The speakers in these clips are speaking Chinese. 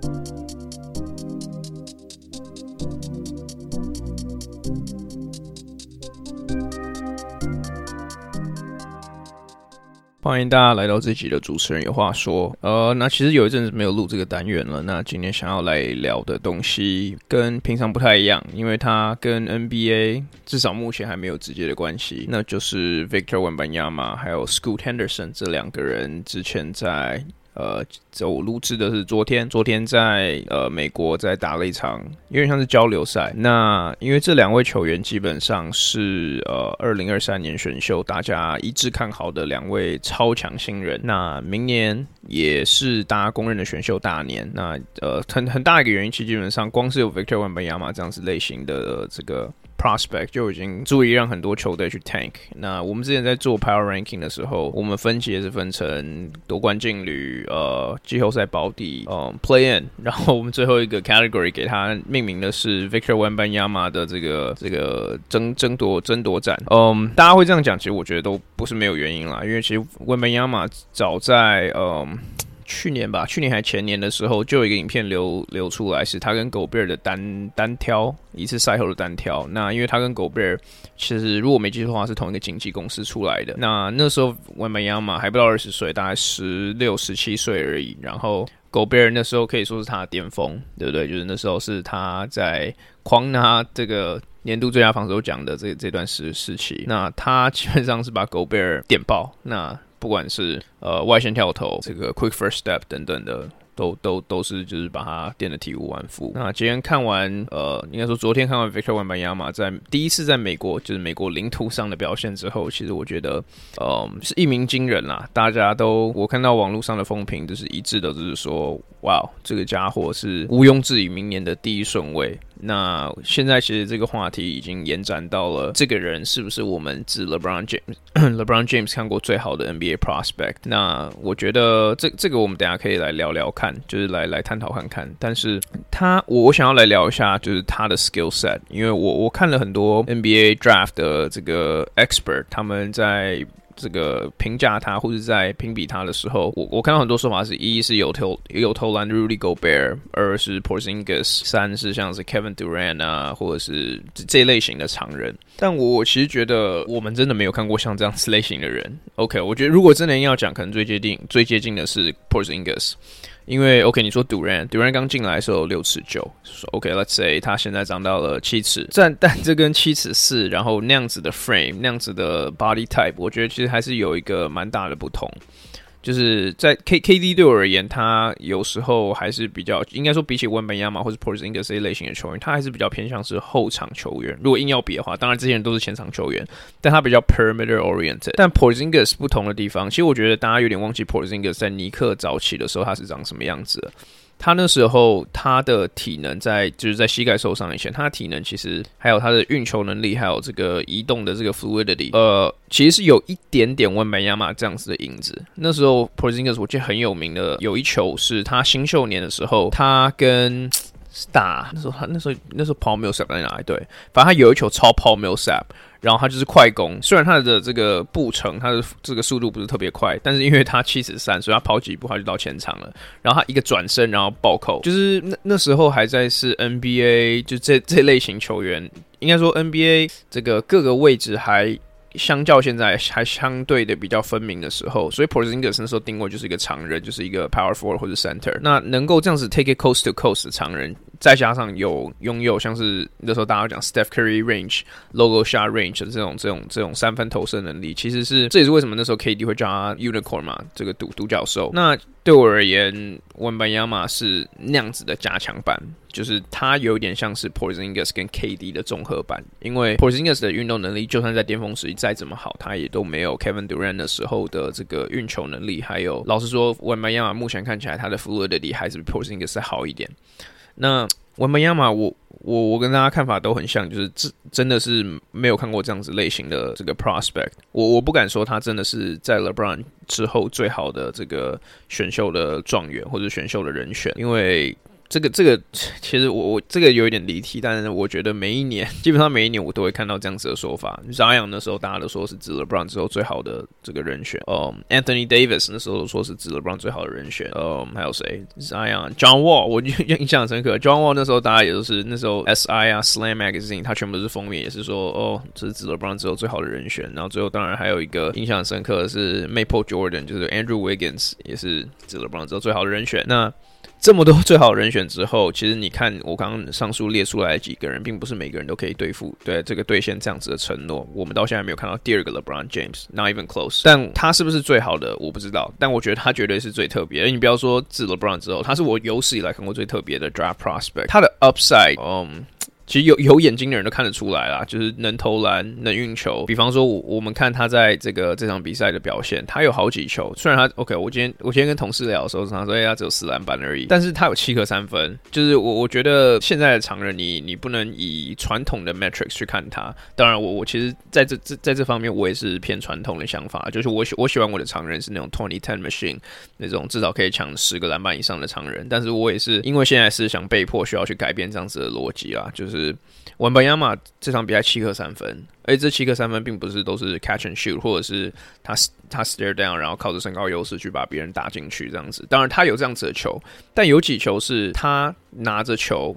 歡迎大家來到這集的主持人有話說。那其實有一陣子沒有錄這個單元了。那今天想要來聊的東西跟平常不太一樣，因為它跟 NBA 至少目前還沒有直接的關係。那就是 Victor Wembanyama 還有 Scoot Henderson 這兩個人之前在我錄製的是昨天在美國在打了一場有點像是交流賽。那因為這兩位球員基本上是2023年選秀大家一致看好的兩位超強新人，那明年也是大家公認的選秀大年。那很大一個原因，其實基本上光是有 Victor Wembanyama 這樣子類型的這個prospect 就已經足以讓很多球隊去 tank。那我們之前在做 power ranking 的時候，我們分级也是分成奪冠劲旅、季後賽保底、play in， 然後我們最後一個 category 給他命名的是 Victor Wembanyama 的這個爭奪戰。大家會這樣講，其實我覺得都不是沒有原因啦，因為其實 Wembanyama 早在去年還前年的時候，就有一個影片流出來，是他跟 Gobert 的單挑，一次賽後的單挑。那因為他跟 Gobert 其實如果沒記錯的話是同一個經紀公司出來的。那時候 Wembanyama 還不到20歲，大概16、17歲而已。然後 Gobert 那時候可以說是他的巔峰，對不對？就是那時候是他在狂拿這個年度最佳防守獎的這段時期。那他基本上是把 Gobert 電爆。那不管是外線跳投、這個 quick first step 等等的，都是就是把它電得體無完膚。那今天看完應該說昨天看完 Victor Wembanyama 在第一次在美國就是美國領土上的表現之後，其實我覺得是一鸣驚人啦。大家我看到網絡上的風評就是一致的，就是說哇，這個家伙是毋庸置疑明年的第一順位。那現在其實這個話題已經延展到了這個人是不是我們自 LeBron James 看過最好的 NBA prospect。那我覺得這個我們等一下可以來聊聊看，就是來探討看看。但是我想要來聊一下就是他的 skill set， 因為我看了很多 NBA draft 的這個 expert， 他們在这個評價他或者在評比他的時候，我看到很多說法是：一是有投籃的 Rudy Gobert， 二是 Porzingis， 三是像是 Kevin Durant 啊，或者是這類型的常人。但我其實覺得我們真的沒有看過像這樣子類型的人。OK， 我覺得如果真的要講，可能最接近的是 Porzingis。因為 OK， 你說 Durant 剛進來的時候6尺9 ，OK，let's say 他現在長到了7尺，但這跟7尺4，然後那樣子的 frame， 那樣子的 body type， 我覺得其實還是有一個蠻大的不同。就是在 KD 對我而言，他有時候還是比較，應該說比起 Wembanyama 或是 Porzingis 這一類型的球員，他還是比較偏向是後場球員。如果硬要比的話，當然這些人都是前場球員，但他比較 perimeter oriented。但 Porzingis 不同的地方，其實我覺得大家有點忘記 Porzingis 在尼克早期的時候他是長什麼樣子的。他那時候他的體能就是在膝蓋受傷以前，他的體能其實還有他的運球能力，還有這個移動的這個 fluidity，其實是有一點點 Wembanyama 這樣子的影子。那時候 Porzingis 我記得很有名的有一球是他新秀年的時候，他跟那时候 Paul Millsap 在哪裡？对，反正他有一球超 Paul Millsap。然後他就是快攻，雖然他的這個步程，他的這個速度不是特別快，但是因為他7尺3，所以他跑幾步他就到前場了。然後他一個轉身，然後暴扣，就是那時候還在是 NBA 就這類型球員，應該說 NBA 這個各個位置還相較現在還相對的比較分明的時候，所以 Porzingis 那時候定位就是一個長人，就是一個 power forward 或者 center。那能夠這樣子 take it coast to coast 的長人，再加上擁有像是那時候大家講 Steph Curry range、logo shot range 的這種三分投射能力，其實这也是為什麼那時候 KD 會叫他 unicorn 嘛，這個獨角獸。那對我而言 ，Wembanyama 是那樣子的加強版，就是他有點像是 Porzingis 跟 KD 的綜合版。因為 Porzingis 的運動能力，就算在巔峰時期再怎麼好，他也都沒有 Kevin Durant 的時候的這個運球能力。還有，老實說 ，Wembanyama 目前看起來他的 fluidity 還是比 Porzingis 再好一點。那 Wembanyama 我跟大家看法都很像，就是真的是沒有看過這樣子類型的這個 prospect。我不敢說他真的是在 LeBron 之後最好的這個選秀的狀元或者選秀的人選，因為這個其實我這個有一點離題，但是我覺得基本上每一年我都會看到這樣子的說法。Zion 那時候大家都說是自 LeBron 之後最好的這個人選，Anthony Davis 那時候說是自 LeBron 最好的人選，還有誰 ？Zion、John Wall， 我印象深刻。John Wall 那時候大家也都是那時候 SI 啊 Slam Magazine， 他全部都是封面，也是說這是自 LeBron 之後最好的人選。然後最後當然還有一個印象深刻的是 Michael Jordan， 就是 Andrew Wiggins 也是自 LeBron 之後最好的人選。那這麼多最好的人選之後，其實你看我剛剛上述列出來的幾個人，並不是每個人都可以對這個兌現這樣子的承諾。我們到現在沒有看到第二個 LeBron James，not even close。但他是不是最好的，我不知道。但我覺得他絕對是最特別的。你不要說自 LeBron 之後，他是我有史以來看過最特別的 draft prospect。他的 upside，其實有眼睛的人都看得出來啦，就是能投籃，能運球。比方說我們看他在這場比賽的表現，他有好幾球，雖然他 OK， 我今天跟同事聊的時候，他說他只有4籃板而已，但是他有7顆3分。就是我覺得現在的常人，你不能以傳統的 metrics 去看他。當然我其實在這方面我也是偏傳統的想法，就是我喜歡我的常人是那種 20-10 machine 那種至少可以搶10個籃板以上的常人。但是我也是因為現在思想被迫需要去改变這樣子的邏輯啦，就是Wembanyama 這場比賽7顆3分，而這7顆3分並不是都是 catch and shoot， 或者是他 stare down， 然後靠着身高優勢去把別人打進去這樣子。當然他有這樣子的球，但有幾球是他拿着球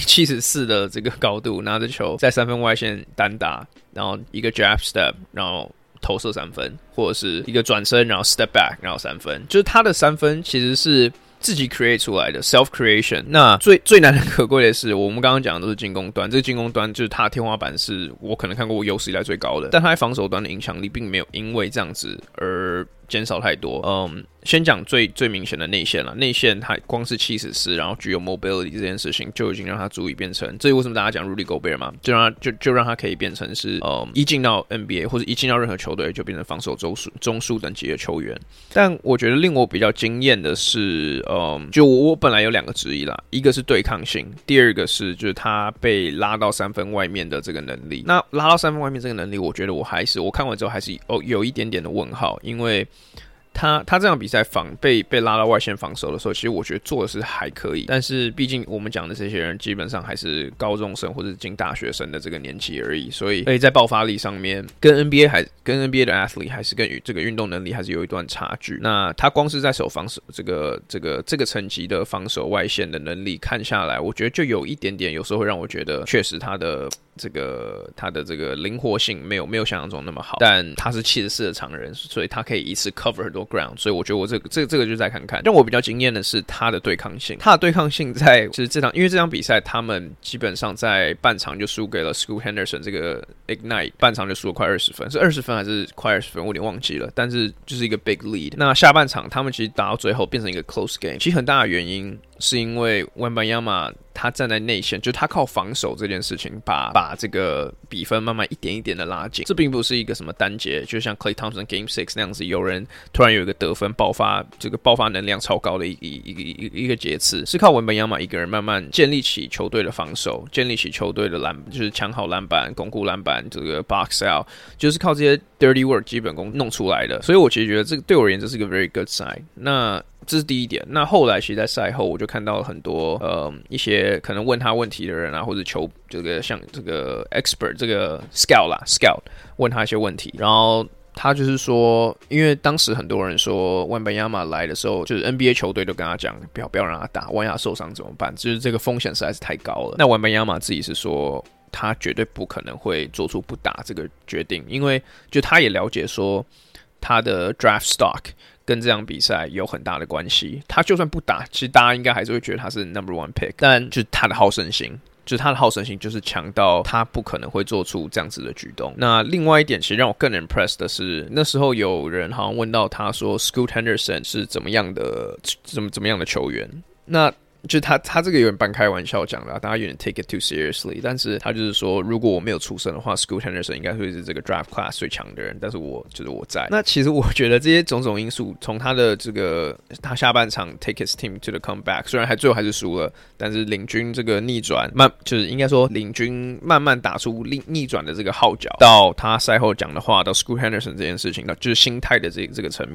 74的這個高度，拿着球在3分外線單打，然後一個 jab step， 然後投射3分，或者是一個轉身然後 step back， 然後3分，就是他的3分其實是自己 create 出來的 self creation。那最難能可貴的是，我們剛剛講的都是進攻端，這個進攻端就是他的天花板是我可能看过我有史以来最高的，但他在防守端的影響力並沒有因為這樣子而減少太多。先講最明顯的內線了，內線他光是74，然後具有 mobility 這件事情就已經讓他足以變成，這是為什麼大家講 Rudy Gobert 嘛，就讓他可以變成是一進到 NBA 或者一進到任何球队就變成防守中枢等級的球員。但我覺得令我比較驚豔的是，就我本來有2個質疑啦，一個是對抗性，第二個是就是他被拉到3分外面的這個能力。那拉到3分外面这個能力，我覺得我看完之後還是有一點點的問號，因為他這場比賽被拉到外線防守的時候，其實我覺得做的是還可以，但是畢竟我們講的這些人基本上還是高中生或者進大學生的這個年紀而已，所以在爆發力上面跟 NBA 的 athlete 還是跟這個運動能力還是有一段差距。那他光是在防守這個層級的防守外線的能力看下來，我覺得就有一點點，有時候會讓我覺得確實他的這個靈活性沒有想象中那麼好，但他是74的常人，所以他可以一次 cover 很多 ground， 所以我觉得我这个就再看看。让我比较驚豔的是他的對抗性，在就是因為這場比賽他們基本上在半場就輸給了 Scoot Henderson 這個 Ignite， 半場就輸了快20分，是20分還是快20分我有點忘記了，但是就是一個 big lead。那下半場他們其實打到最後變成一個 close game， 其實很大的原因是因為 Wembanyama 他站在內線，就是他靠防守這件事情把這個比分慢慢一點一點的拉近。這並不是一個什麼單節，就像 Klay Thompson Game 6那樣子，有人突然有一個得分爆發能量超高的一個節次，是靠Wembanyama一個人慢慢建立起球隊的防守，建立起球隊的就是搶好籃板、鞏固籃板，這個 box out， 就是靠這些 dirty work 基本功弄出來的。所以我其實覺得這個對我而言這是一個 very good sign。那這是第一點。那後來其實在賽後我就看到了很多一些可能問他問題的人啊，或者這個像這個 expert 這個 scout 問他一些問題，然後他就是說，因為當時很多人說Wembanyama來的時候，就是 NBA 球隊都跟他講不要讓他打，萬一他受傷怎麼辦？就是這個風險實在是太高了。那Wembanyama自己是說他絕對不可能會做出不打這個決定，因為就他也了解說他的 draft stock跟這場比賽有很大的關係，他就算不打，其實大家應該還是會覺得他是 1 pick， 但就是他的好勝心，就是強到他不可能會做出這樣子的舉動。那另外一點，其實讓我更 impressed 的是，那時候有人好像問到他說 Scoot Henderson 是怎麼樣的球員，那就他這個有點半開玩笑講的，大家有點 take it too seriously， 但是他就是說，如果我沒有出生的話 ，Scoot Henderson 應該會是這個 draft class 最強的人，但是我在。那其實我覺得這些種種因素，從他的他下半場 take his team to the comeback， 雖然最後還是輸了，但是領軍這個逆轉就是應該說領軍慢慢打出逆轉的這個號角，到他賽後講的話，到 Scoot Henderson 這件事情，就是心態的這個層面。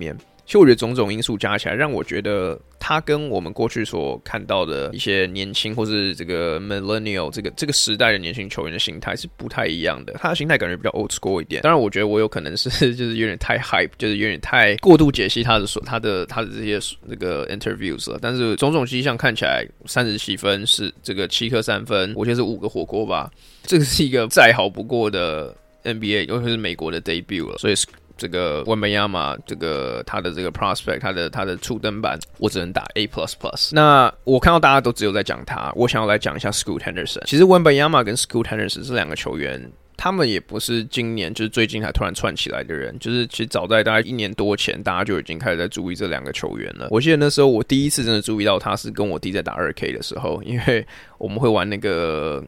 其實我覺得種種因素加起來，讓我覺得他跟我們過去所看到的一些年輕或是這個 millennial 這個時代的年輕球員的心態是不太一樣的。他的心態感覺比較 old school 一點。當然，我覺得我有可能是就是有點太 hype， 就是有點太過度解析他的這些這個 interviews 了。但是種種跡象看起來37分是這個7顆3分，我覺得是5個火鍋吧。這個是一個再好不過的 NBA， 尤其是美國的 debut 了，所以這個Wembanyama這個他的這個 prospect， 他的初登板，我只能打 A++。那我看到大家都只有在講他，我想要來講一下 Scoot Henderson。其實 Wembanyama 跟 Scoot Henderson 這兩個球員，他們也不是今年就是最近才突然竄起來的人，就是其實早在大概1年多前，大家就已經開始在注意這兩個球員了。我記得那時候我第一次真的注意到他是跟我弟在打 2K 的時候，因為我們會玩那個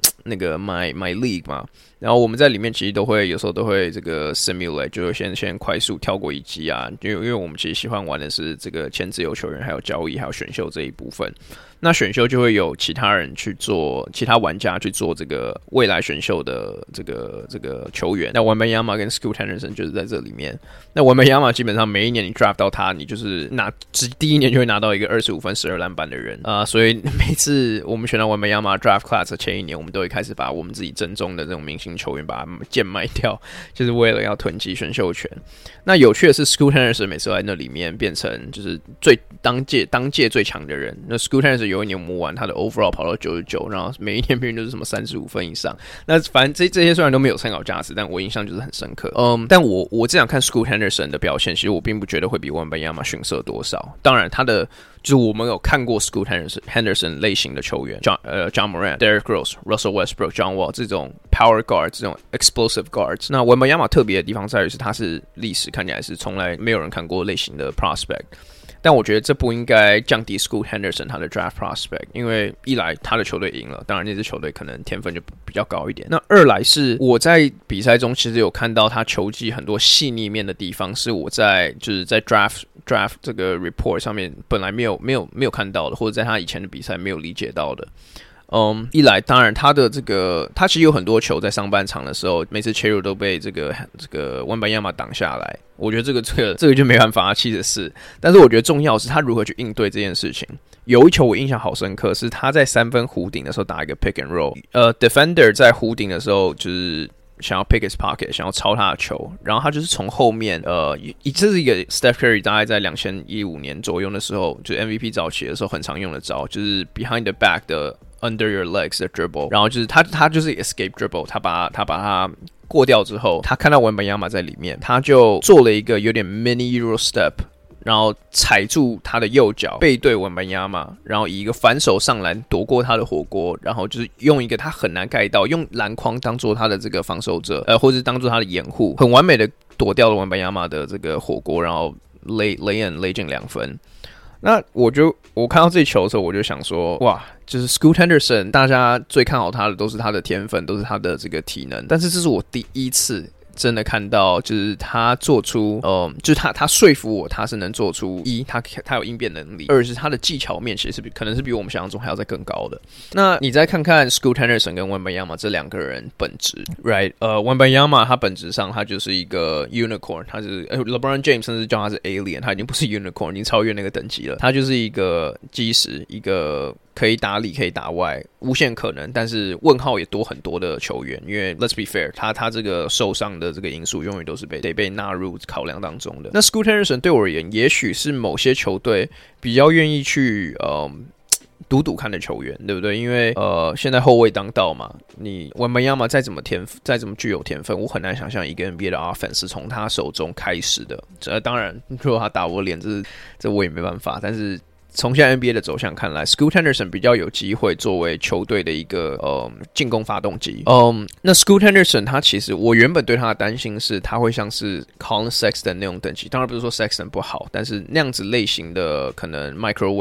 My League 嘛。然後我們在裡面其實有時候都會這個 simulate， 就是先快速跳過一擊啊，因為我們其實喜歡玩的是這個簽自由球員，還有交易，還有選秀這一部分。那選秀就會有其他玩家去做這個未來選秀的這個球員。那 Wembanyama 跟 Scoot Henderson 就是在這裡面。那 Wembanyama 基本上每一年你 draft 到他，你就是第一年就會拿到一個25分12籃板的人啊，所以每次我們選到 Wembanyama draft class 的前一年，我們都會開始把我們自己正宗的這種明星球員把它贱賣掉，就是為了要囤積選秀權。那有趣的是 Scoot Henderson 每次在那裡面變成就是當屆最強的人。那 Scoot Henderson 有一年我們玩他的 overall 跑到99，然後每一年平均都是什麼35分以上。那反正這些雖然都沒有參考價值，但我印象就是很深刻。但我这樣看 Scoot Henderson 的表現，其實我並不覺得會比 Wembanyama 遜色多少。當然他的就是我們有看過 Scoot Henderson 類型的球員，John Morant、Derrick Rose、Russell Westbrook、John Wall 這種 power guards， 這種 explosive guards。那 Wembanyama 特別的地方在於是他是歷史看起來是從來沒有人看過類型的 prospect。但我覺得這不應該降低 Scoot Henderson 他的 draft prospect， 因為一來他的球隊贏了，當然那支球隊可能天分就比較高一點。那二來是我在比賽中其實有看到他球技很多細膩面的地方，是我在 draft 這個 report 上面本來沒有看到的，或者在他以前的比賽沒有理解到的。一來當然他其實有很多球在上半場的時候，每次切入都被這個Wembanyama擋下來。我覺得這個就沒辦法，74。但是我覺得重要的是他如何去應對這件事情。有一球我印象好深刻，是他在3分弧頂的時候打一個 pick and roll，defender 在弧頂的時候就是想要 pick his pocket， 想要抄他的球，然後他就是從後面，這是一個 Steph Curry 大概在2015年左右的時候，就是 MVP 早期的時候很常用的招，就是 behind the back 的 under your legs 的 dribble， 然後就是他就是 escape dribble， 他把它過掉之後，他看到 Wembanyama 在裡面，他就做了一個有點 mini Euro step， 然後踩住他的右腳，背對 Wembanyama， 然後以一個反手上籃躲過他的火鍋，然後就是用一個他很難蓋到，用籃筐當做他的這個防守者，或者是當做他的掩護，很完美的躲掉了 Wembanyama 的這個火鍋，然後勒進2分。那我看到這球的時候，我就想說，哇，就是 Scoot Henderson， 大家最看好他的都是他的天分，都是他的這個體能，但是這是我第一次真的看到，就是他做出，就是他說服我，他是能做出他有應變能力，二是他的技巧面其實可能是比我們想象中還要再更高的。那你再看看 Scoot Henderson 跟 Wembanyama 這兩個人本質 ，right？ Wembanyama 他本質上他就是一個 unicorn， 他是LeBron James 甚至叫他是 alien， 他已經不是 unicorn， 已經超越那個等級了。他就是一個基石，一個可以打裡可以打外，無限可能，但是問號也多很多的球員。因為 Let's be fair， 他这個受傷的這個因素永遠都是得被納入考量當中的。那 Scoot Henderson 對我而言，也許是某些球隊比較願意去賭看的球員，對不對？因為現在後衛當道嘛，你 Wembanyama 再怎麼具有天分，我很難想象一個 NBA 的 offense 是從他手中開始的。當然，如果他打我臉，這我也沒辦法。但是從現在 NBA 的走向看來 ，Scoot Henderson 比較有機會作為球隊的一個進攻發動機。那 Scoot Henderson 他其實我原本對他的擔心是他會像是 Colin Sexton 那種等級，當然不是說 Sexton 不好，但是那樣子類型的可能 microwave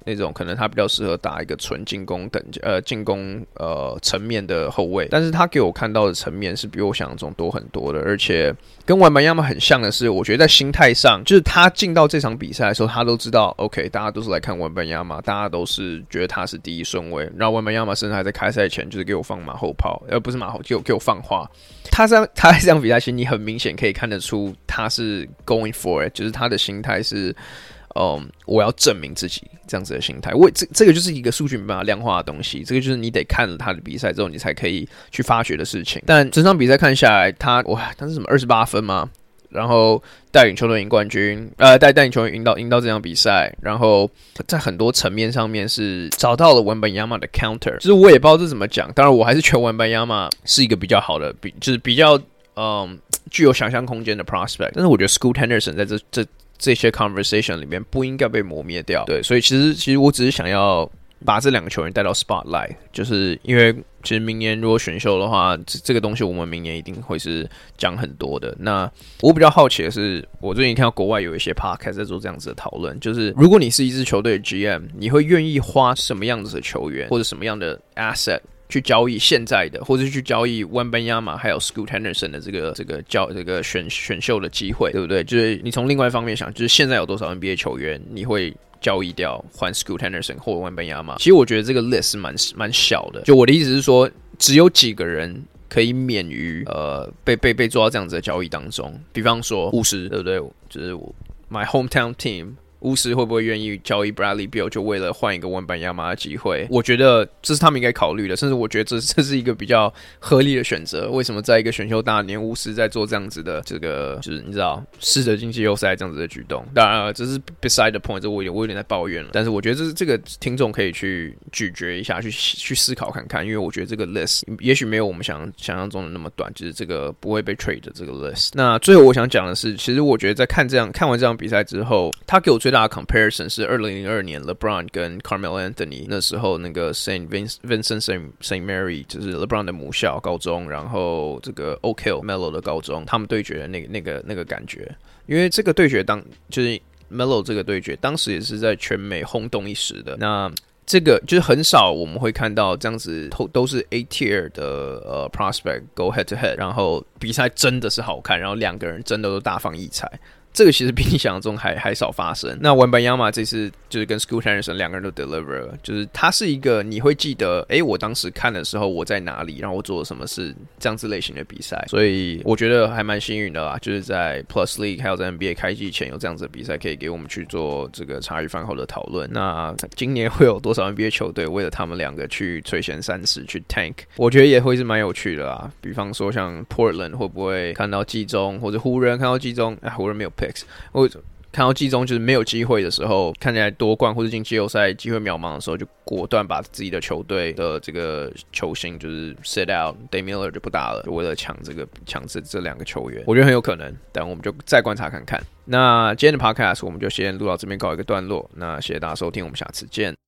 那種可能他比較適合打一個純進攻進攻層面的後衛，但是他給我看到的層面是比我想象中多很多的，而且跟文班亞馬很像的是，我覺得在心態上，就是他進到這場比賽的時候，他都知道 ，OK， 大家都是來看文班亞馬，大家都是覺得他是第一順位，然後文班亞馬甚至還在開賽前就是給我放馬後炮，不是馬後，給我放話。他在這場比賽，其實你很明顯可以看得出他是 going for it， 就是他的心態是。我要證明自己這樣子的心態，這個就是一個數據沒辦法量化的東西，這個就是你得看了他的比賽之後，你才可以去發掘的事情。但整場比賽看下來，他是什麼28分嗎？然後帶領球隊贏冠軍，帶領球隊贏到這場比賽，然後在很多層面上面是找到了文班亞馬的 counter， 就是我也不知道這怎麼講，當然我還是覺得文班亞馬是一個比較好的，就是比較具有想象空間的 prospect， 但是我覺得 Scoot Henderson 在這些 conversation 裡面不應該被磨滅掉，对，所以其實我只是想要把這兩個球員帶到 spotlight， 就是因為其實明年如果選秀的話，這個東西我們明年一定會是講很多的。那我比較好奇的是，我最近看到國外有一些 podcast 在做這樣子的討論，就是如果你是一支球隊的 GM， 你會願意花什麼樣子的球員或者什麼樣的 asset去交易現在的，或者去交易文班亞馬還有 Scoot Henderson 的這個選秀的機會，對不對？就是你從另外一方面想，就是現在有多少 NBA 球員你會交易掉換 Scoot Henderson 或文班亞馬？其實我覺得這個 list 是蠻小的。就我的意思是說，只有幾個人可以免於被做到這樣子的交易當中。比方說巫師，對不對？就是 my hometown team。巫師會不會願意交易 Bradley Beal 就為了換一個文班亞馬的機會？我覺得這是他們應該考慮的，甚至我覺得這是一個比較合理的選擇。為什麼在一個選秀大年，巫師在做這樣子的這個，就是你知道試着進季後賽這樣子的舉動？當然，這是 beside the point， 這我有點在抱怨了。但是我覺得這個聽眾可以去咀嚼一下，去思考看看，因為我覺得這個 list 也許沒有我們想象中的那麼短，就是這個不會被 trade 的這個 list。那最後我想講的是，其實我覺得在看完這場比賽之後，他給我最大的 comparison 是2002年 LeBron 跟 Carmelo Anthony 那時候那個 Saint Vincent Saint Mary 就是 LeBron 的母校高中，然後這個 Oak Hill Melo 的高中，他們對決的那個感覺，因為這個對決就是 Melo 這個對決當時也是在全美轟動一時的。那這個就是很少我們會看到這樣子都是 A tier 的prospect go head to head， 然後比賽真的是好看，然後两個人真的都大放異彩。這個其實比你想象中還少發生。那文班亞馬這次就是跟 Scoot Henderson 兩個人都 deliver 了，就是他是一個你會記得，我當時看的時候我在哪裡，然後我做了什麼事，這樣子類型的比賽。所以我覺得還蠻幸運的啦，就是在 Plus League 還有在 NBA 開季前有這樣子的比賽可以給我們去做這個茶餘飯後的討論。那今年會有多少 NBA 球隊為了他們兩個去垂涎三尺去 tank， 我覺得也會是蠻有趣的啦。比方說像 Portland 會不會看到季中，或者湖人看到季中，湖人沒有我看到季中就是沒有機會的時候，看起來奪冠或者進季後賽機會渺茫的時候，就果斷把自己的球隊的這個球星就是 sit out，Dame Lillard 就不打了，就為了搶這兩個球員，我覺得很有可能，但我們就再觀察看看。那今天的 podcast 我們就先錄到這邊告一個段落，那謝謝大家收聽，我們下次見。